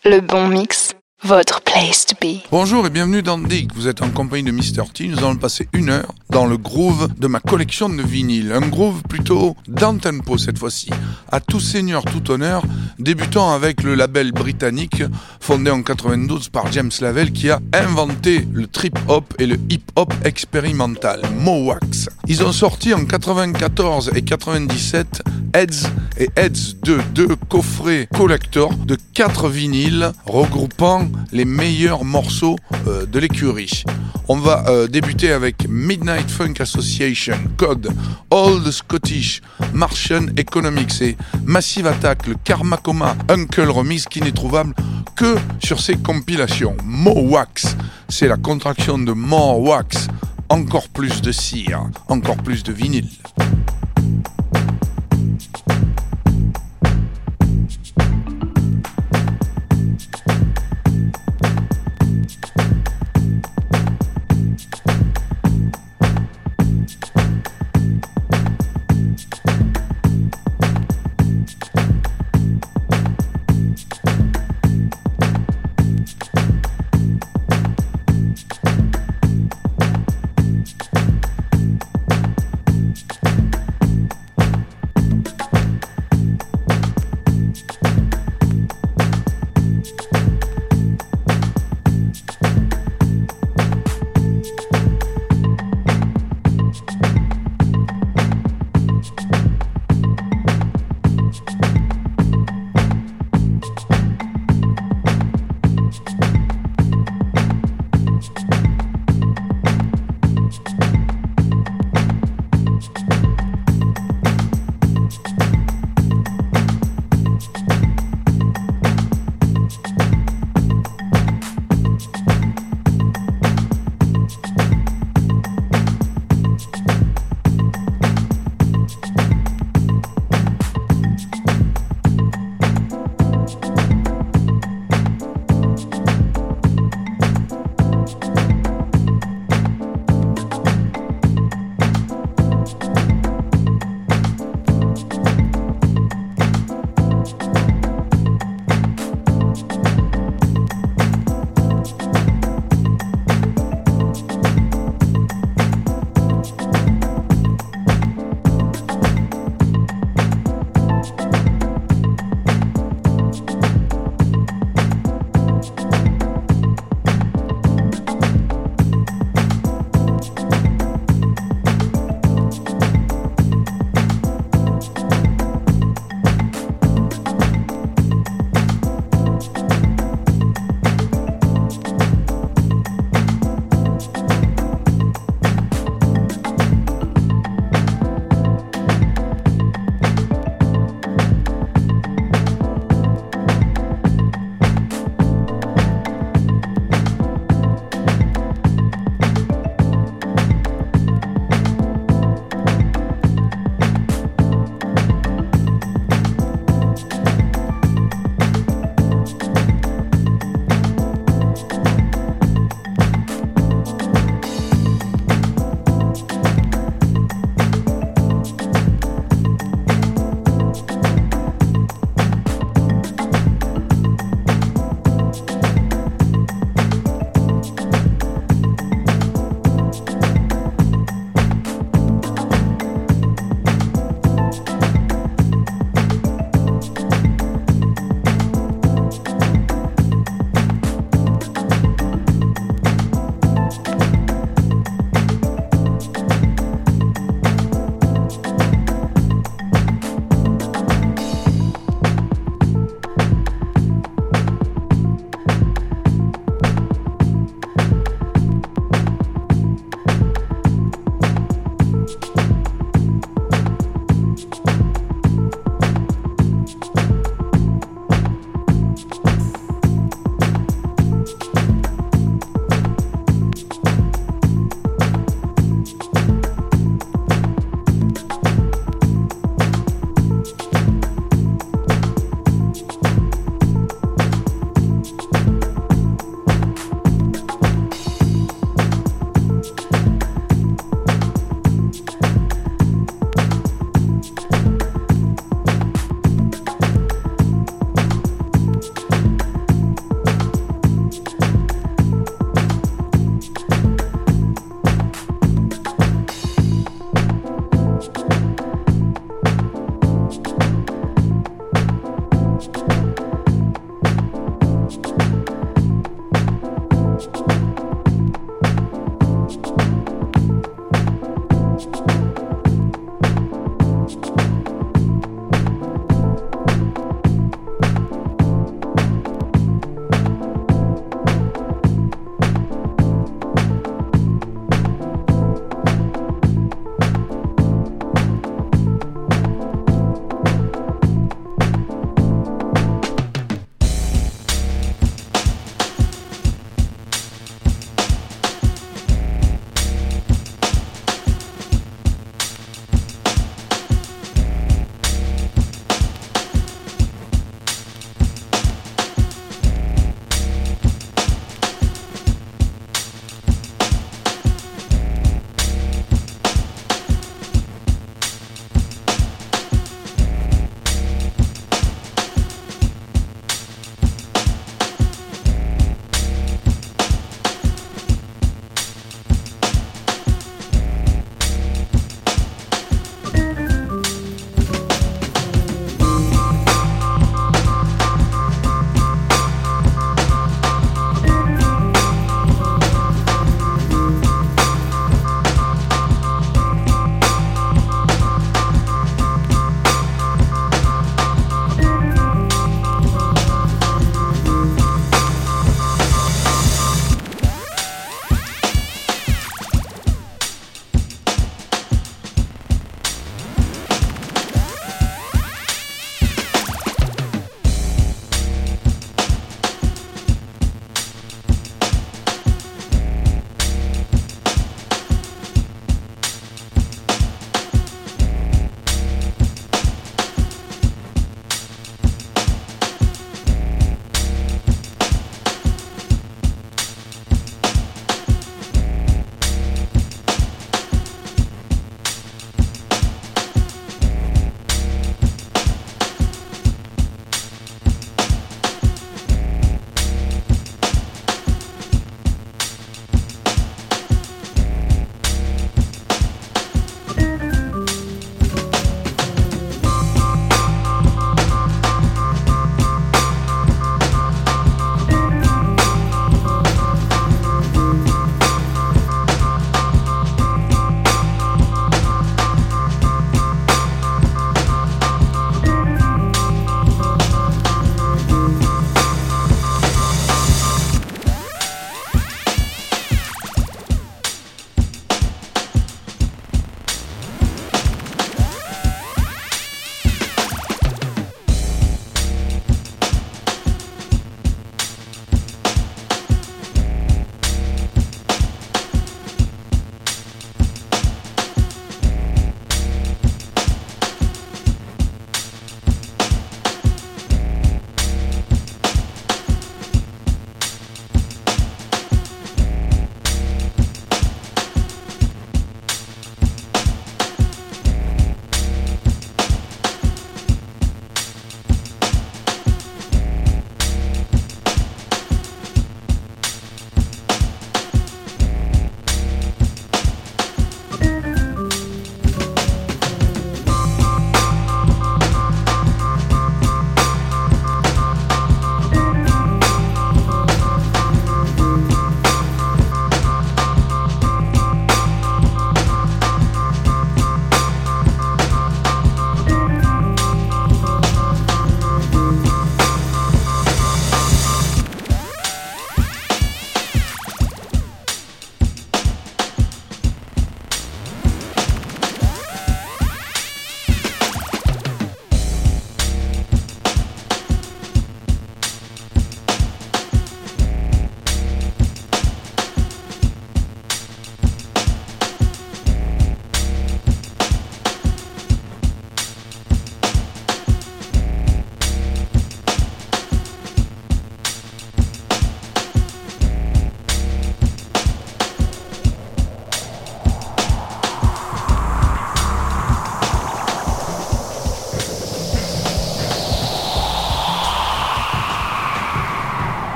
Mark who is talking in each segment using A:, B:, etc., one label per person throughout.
A: Le bon mix, votre place to be.
B: Bonjour et bienvenue dans Dig. Vous êtes en compagnie de Mr. T. Nous allons passer 1 heure dans le groove de ma collection de vinyles. Un groove plutôt down-tempo cette fois-ci. À tout seigneur, tout honneur, débutant avec le label britannique fondé en 92 par James Lavelle qui a inventé le trip-hop et le hip-hop expérimental, Mowax. Ils ont sorti en 94 et 97 Heads et Heads 2, 2 coffrets collector de 4 vinyles regroupant les meilleurs morceaux de l'écurie. On va débuter avec Midnight Funk Association, Code, Old Scottish, Martian Economics et Massive Attack, le Karma Coma Uncle Remix qui n'est trouvable que sur ces compilations. Mowax, c'est la contraction de More Wax, encore plus de cire, encore plus de vinyle.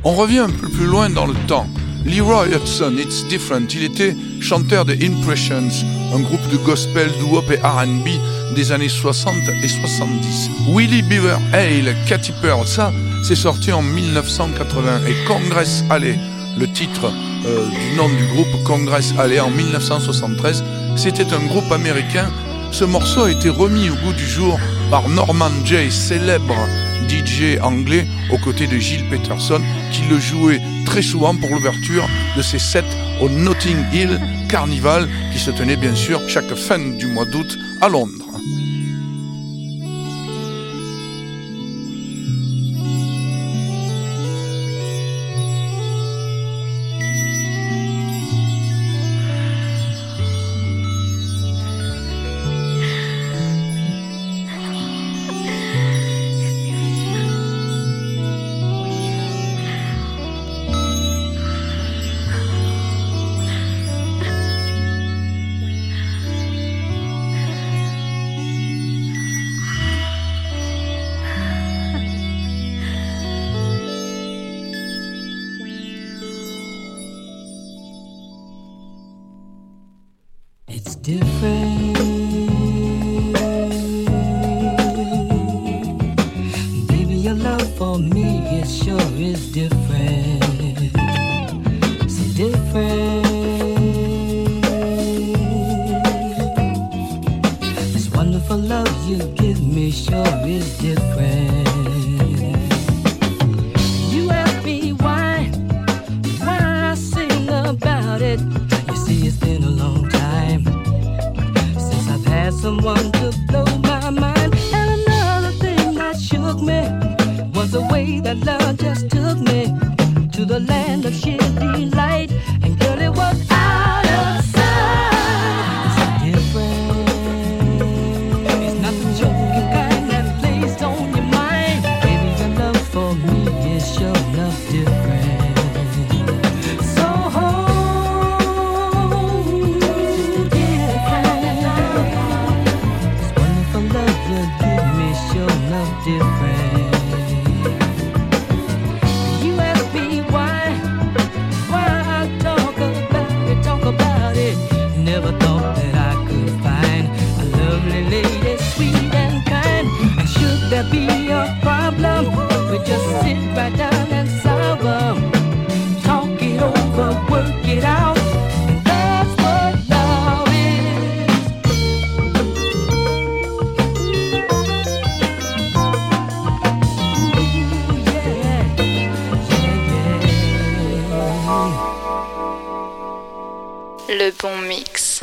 B: On revient un peu plus loin dans le temps. Leroy Hudson, It's Different, il était chanteur de Impressions, un groupe de gospel, doo-wop et R&B des années 60 et 70. Willie Beaver Hale, Katy Perry, ça c'est sorti en 1980. Et Congress Alley, le titre du nom du groupe, Congress Alley, en 1973, c'était un groupe américain. Ce morceau a été remis au goût du jour par Norman Jay, célèbre DJ anglais, aux côtés de Gil Peterson, qui le jouait très souvent pour l'ouverture de ses sets au Notting Hill Carnival, qui se tenait bien sûr chaque fin du mois d'août à Londres.
C: Different, baby, your love for me, it sure is different, so different. This wonderful love you give me sure is different. You ask me why I sing about it. You see, it's been a long time had someone to blow my mind. And another thing that shook me was the way that love just took me to the land of sheer delight. And girl, it was out of sight. It's different. It's not the joking kind that plays on your mind. Baby, your love for me is sure enough different. Different. You ask me why I talk about it. Never thought that I could find a lovely lady, sweet and kind. And should there be a problem, we just sit right down and solve them. Talk it over, work it out. And that's what love is.
A: Le bon mix.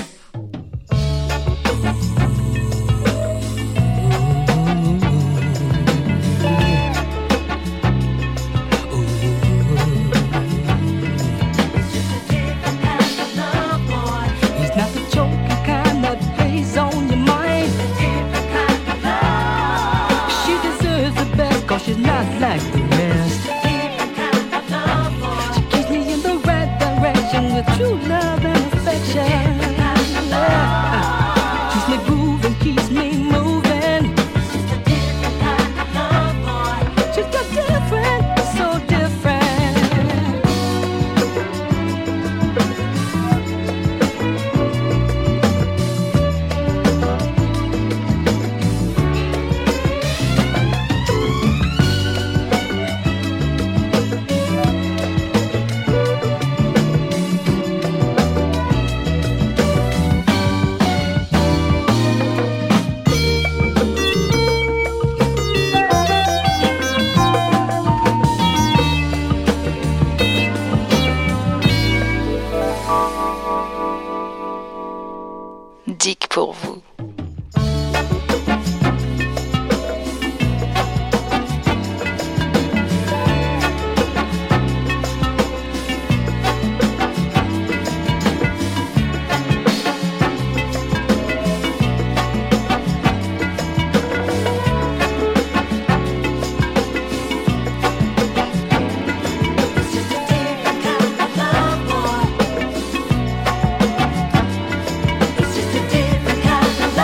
C: She's not like the rest. She keeps me in the right direction with true love and affection. Keeps me grooving, keeps me moving. She's got different, so different.
A: Dick pour vous.
C: It's just a different kind of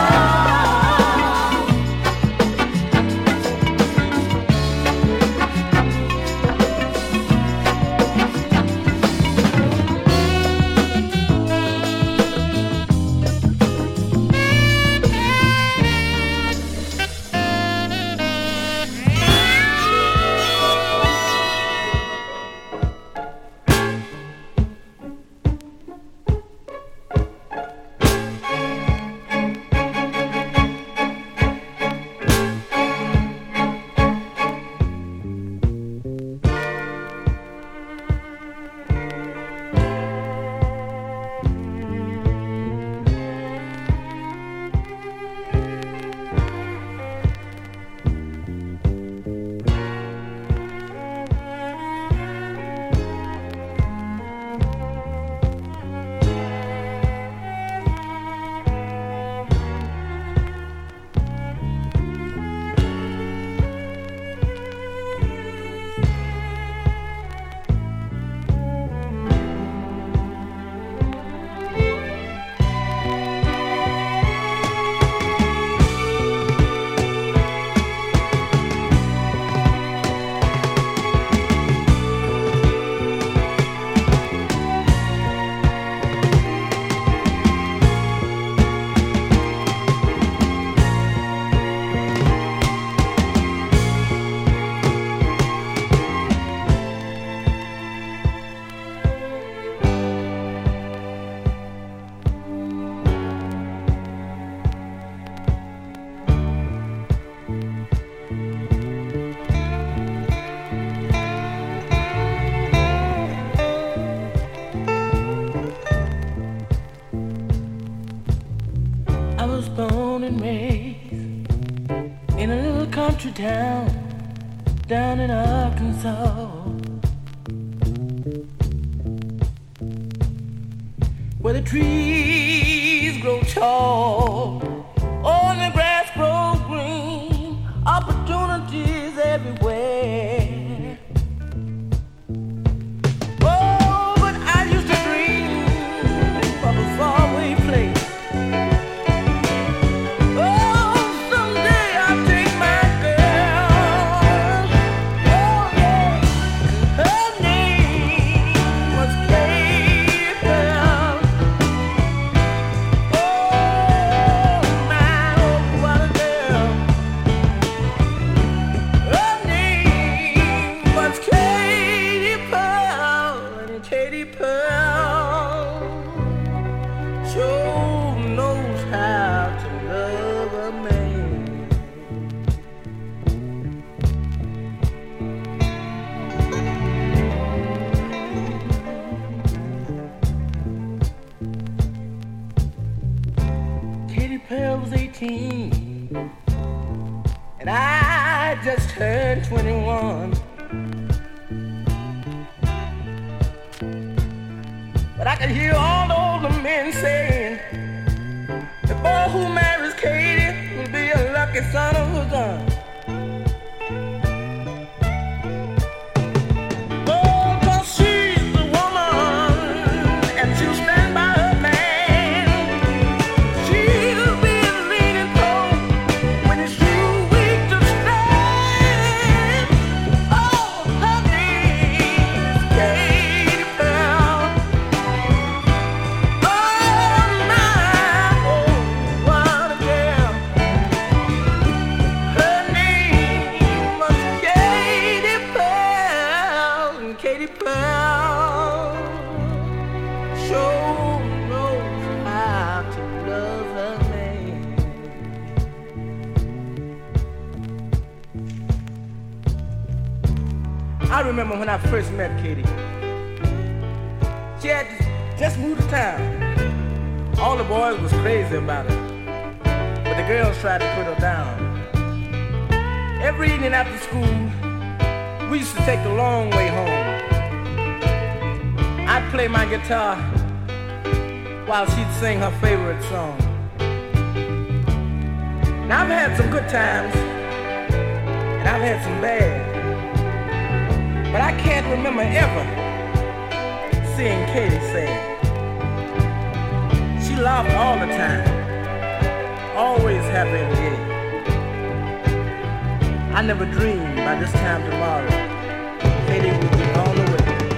D: born and raised in a little country town down in Arkansas, where the trees grow tall, all the grass grows green, opportunities everywhere. Oh, but I used to dream of a faraway place. And I just turned 21. But I could hear all the older men saying, the boy who marries Katie will be a lucky son of a gun. I remember when I first met Katie. She had just moved to town. All the boys was crazy about her, but the girls tried to put her down. Every evening after school, we used to take the long way home. I'd play my guitar while she'd sing her favorite song. Now I've had some good times, and I've had some bad. But I can't remember ever seeing Katie sad. She laughed all the time, always happy and gay. I never dreamed by this time tomorrow Katie would be on the way.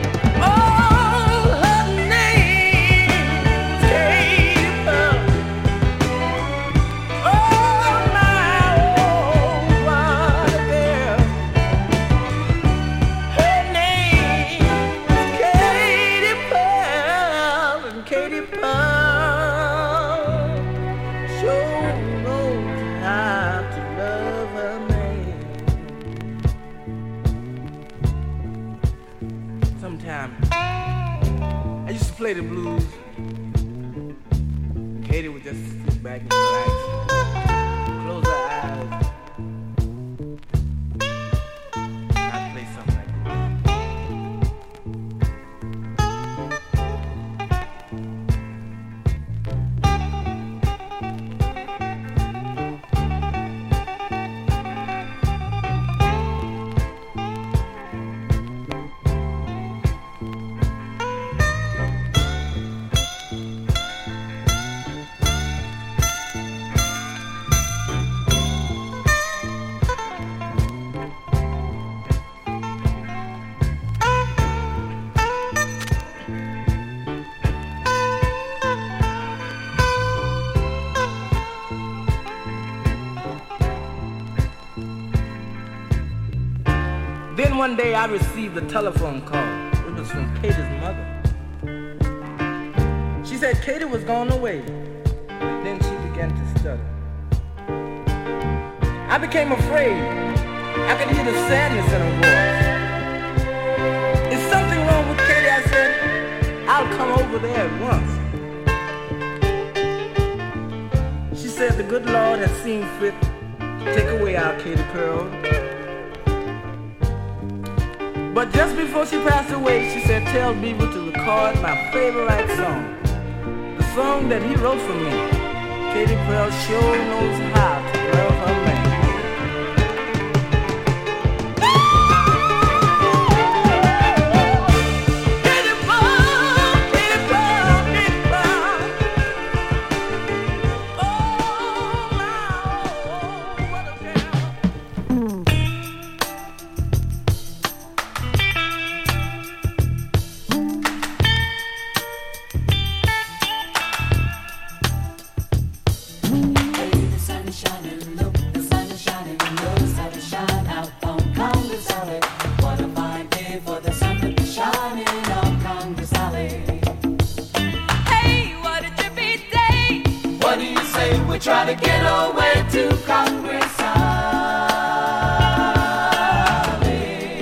D: Play the blues. Katie would just sit back and relax, close her eyes. I'd play something like Then one day I received a telephone call. It was from Katie's mother. She said Katie was gone away. Then she began to stutter. I became afraid. I could hear the sadness in her voice. Is something wrong with Katie? I said, I'll come over there at once. She said the good Lord had seen fit to take away our Katie Pearl. But just before she passed away, she said, tell Beaver to record my favorite song. The song that he wrote for me. Katie Pearl sure knows how to love her man.
E: Try to get away to Congress Alley.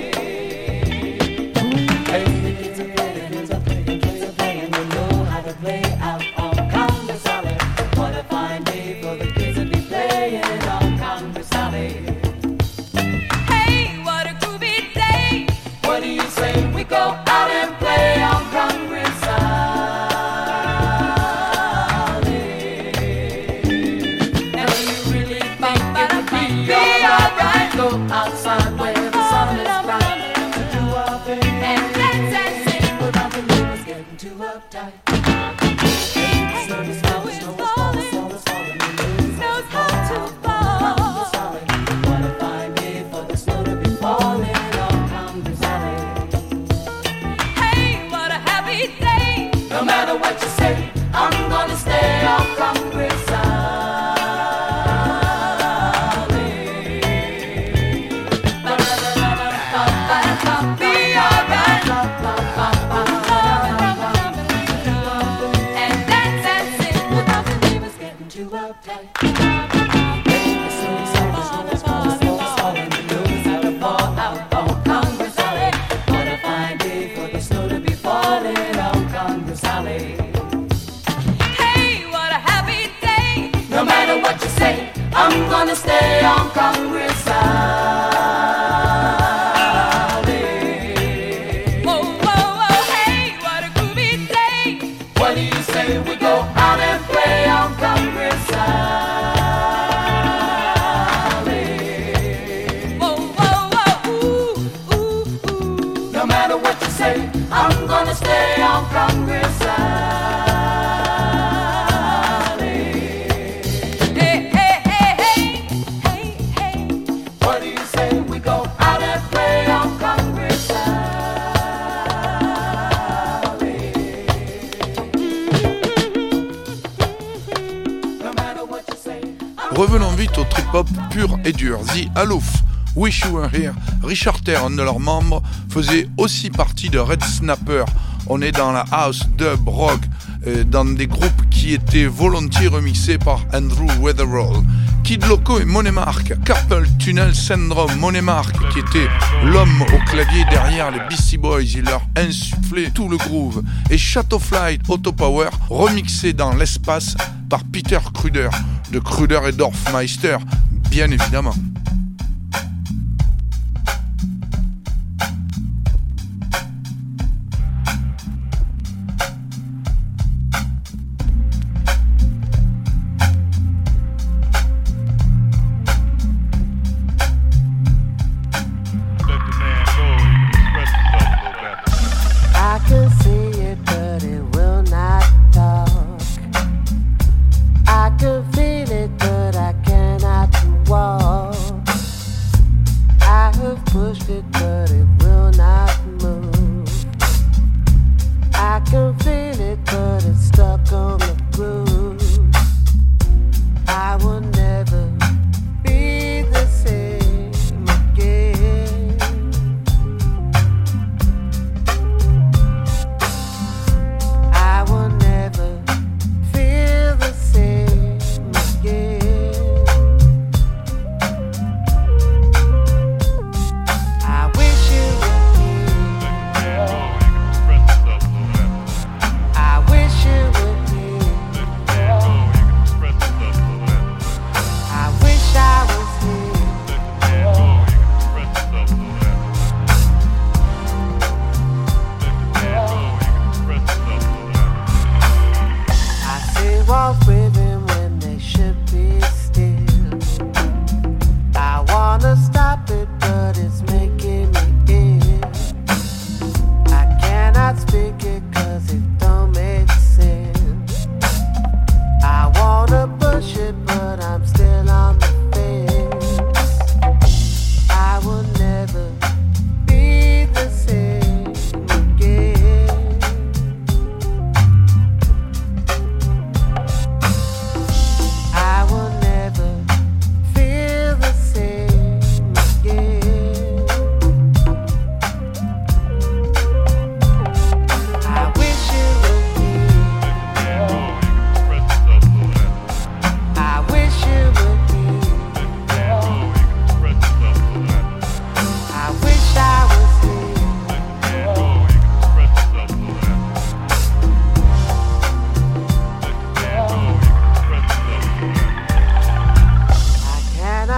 E: Hey, the kids are playing, they know how to play out on Congress Alley. What a fine day for the kids to be playing on Congress Alley. Hey, what a groovy day. What do you say we go out and play on Congress Alley? Go outside where the sun is bright to do our thing and dance and sing without the neighbors getting too uptight. Snow is falling, snow is falling, snow is falling, snow's hard to fall. What a fine day for the snow to be falling on Congress Alley. Hey, what a happy day! No matter what you say, I'm gonna stay on Congress Alley. I'm gonna stay on Congress Alley. Whoa, whoa, whoa, hey, what a groovy day. What do you say we go out and play on Congress Alley? Whoa, whoa, whoa, ooh, ooh, ooh. No matter what you say, I'm gonna stay on Congress Alley.
B: Revenons vite au trip-hop pur et dur. The Aloof, Wish You Were Here, Richard Terre, un de leurs membres, faisait aussi partie de Red Snapper. On est dans la house, dub, rock, dans des groupes qui étaient volontiers remixés par Andrew Weatherall. Kid Loco et Monemark, Carpal Tunnel Syndrome, Monemark qui était l'homme au clavier derrière les Beastie Boys, il leur insufflait tout le groove. Et Chateau Flight Autopower, remixé dans l'espace par Peter Kruder, de Kruder et Dorfmeister, bien évidemment.
F: I can feel it, but I cannot walk.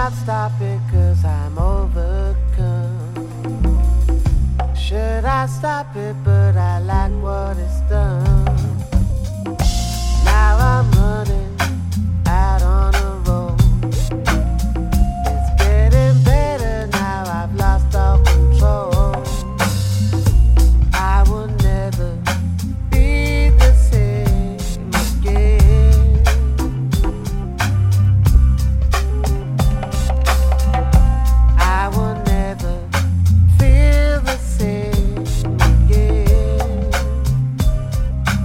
F: not stop it 'cause I'm overcome. Should I stop it, but I like what it's done. Now I'm running out on a road. It's getting better now, I've lost all control. I will never be the same again. I will never feel the same again.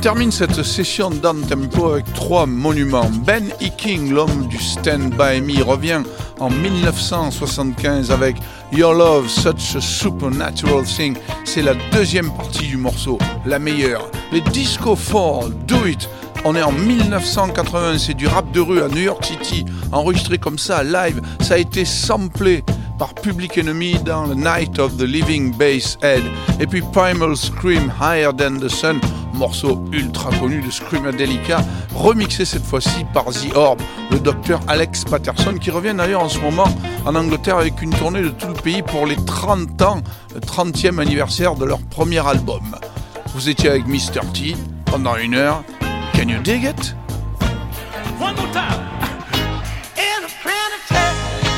B: termine cette session down-tempo avec 3 monuments. Ben E. King, l'homme du Stand By Me, revient en 1975 avec Your Love, Such a Supernatural Thing. C'est la deuxième partie du morceau, la meilleure. Les Disco 4, Do It. On est en 1980, c'est du rap de rue à New York City, enregistré comme ça, live. Ça a été samplé par Public Enemy dans The Night of the Living Bass Head. Et puis Primal Scream, Higher Than the Sun, morceau ultra connu de Screamadelica, remixé cette fois-ci par The Orb, le docteur Alex Patterson, qui revient d'ailleurs en ce moment en Angleterre avec une tournée de tout le pays pour les 30 ans, le 30e anniversaire de leur premier album. Vous étiez avec Mr. T pendant 1 heure. Can you dig it?
G: One more time. In a planetary,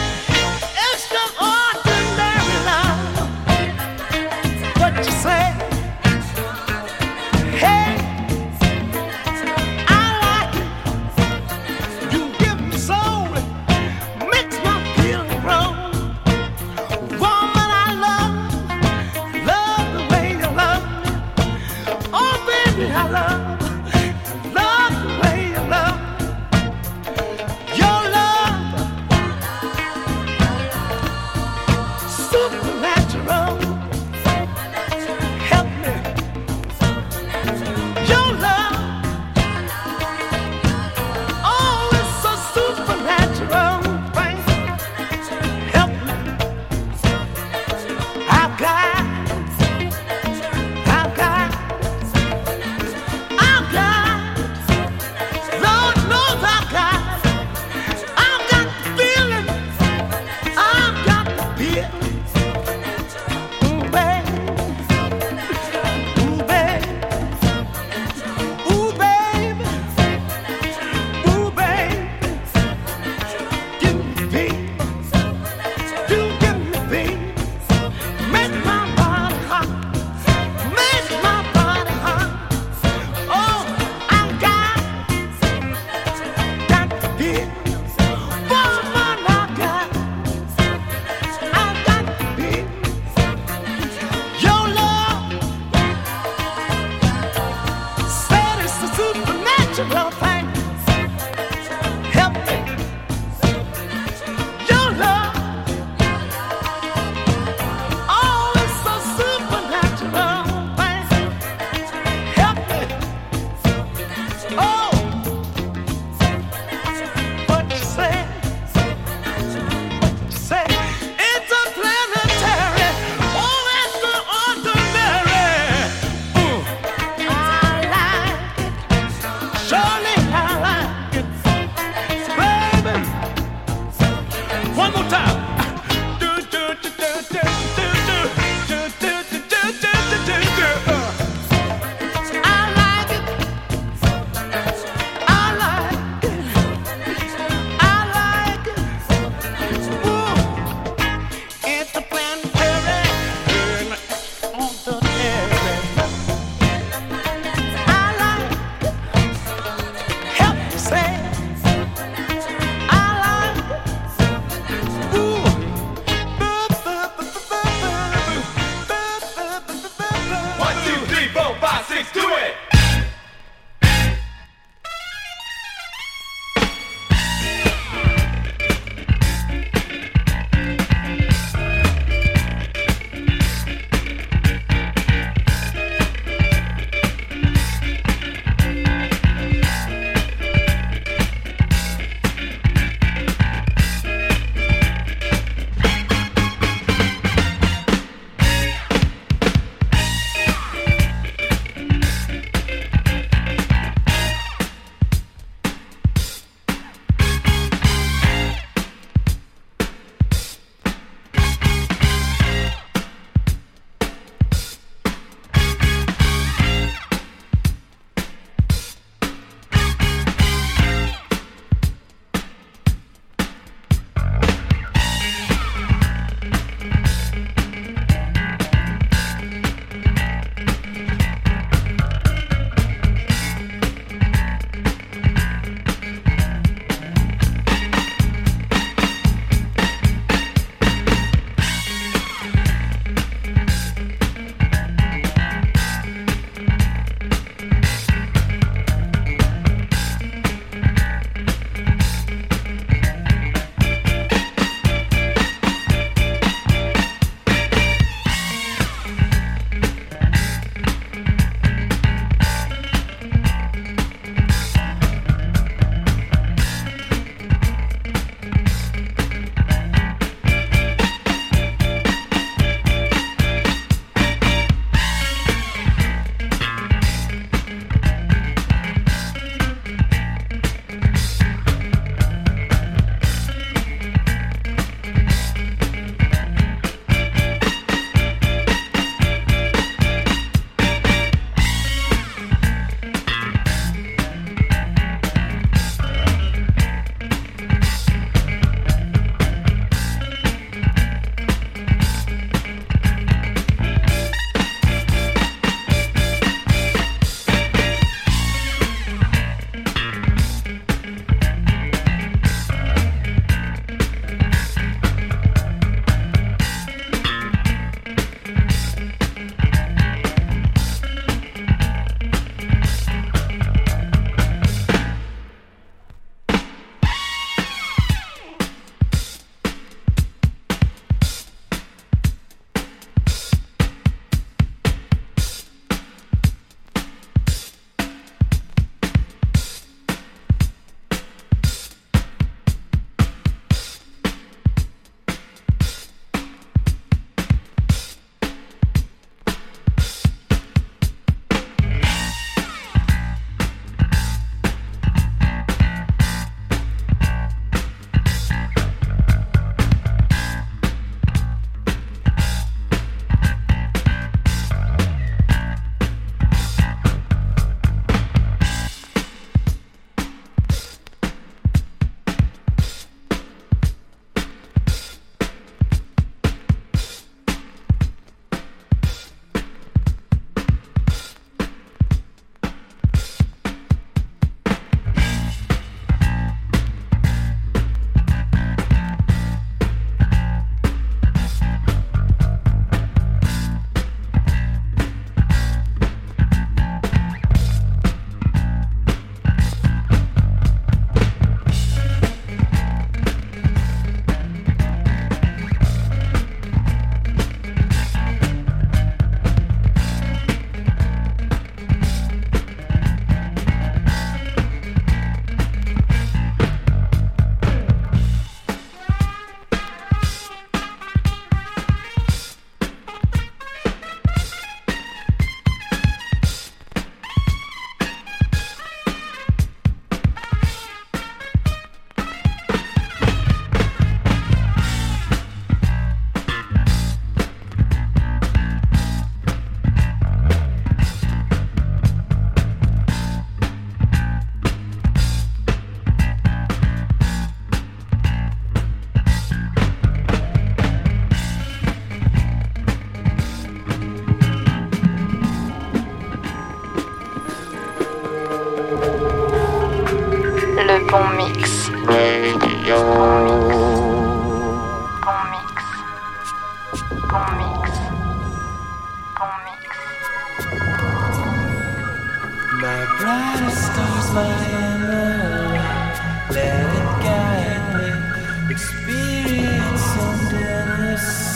G: extraordinary love. What you say? Hey, I like it. You give me soul, makes my feeling grow. Woman, I love the way you love me. Oh, baby, I love.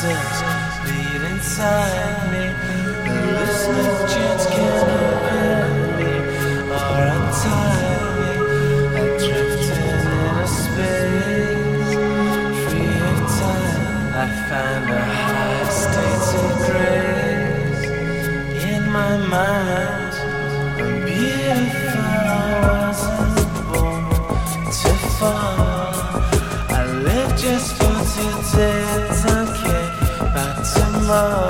H: steps beat inside me. The listening chants can offend me or untie me. I drifted in a space free of time. I find a high state of grace in my mind. I'm beautiful, I wasn't born to fall. I live just for today, don't care about tomorrow.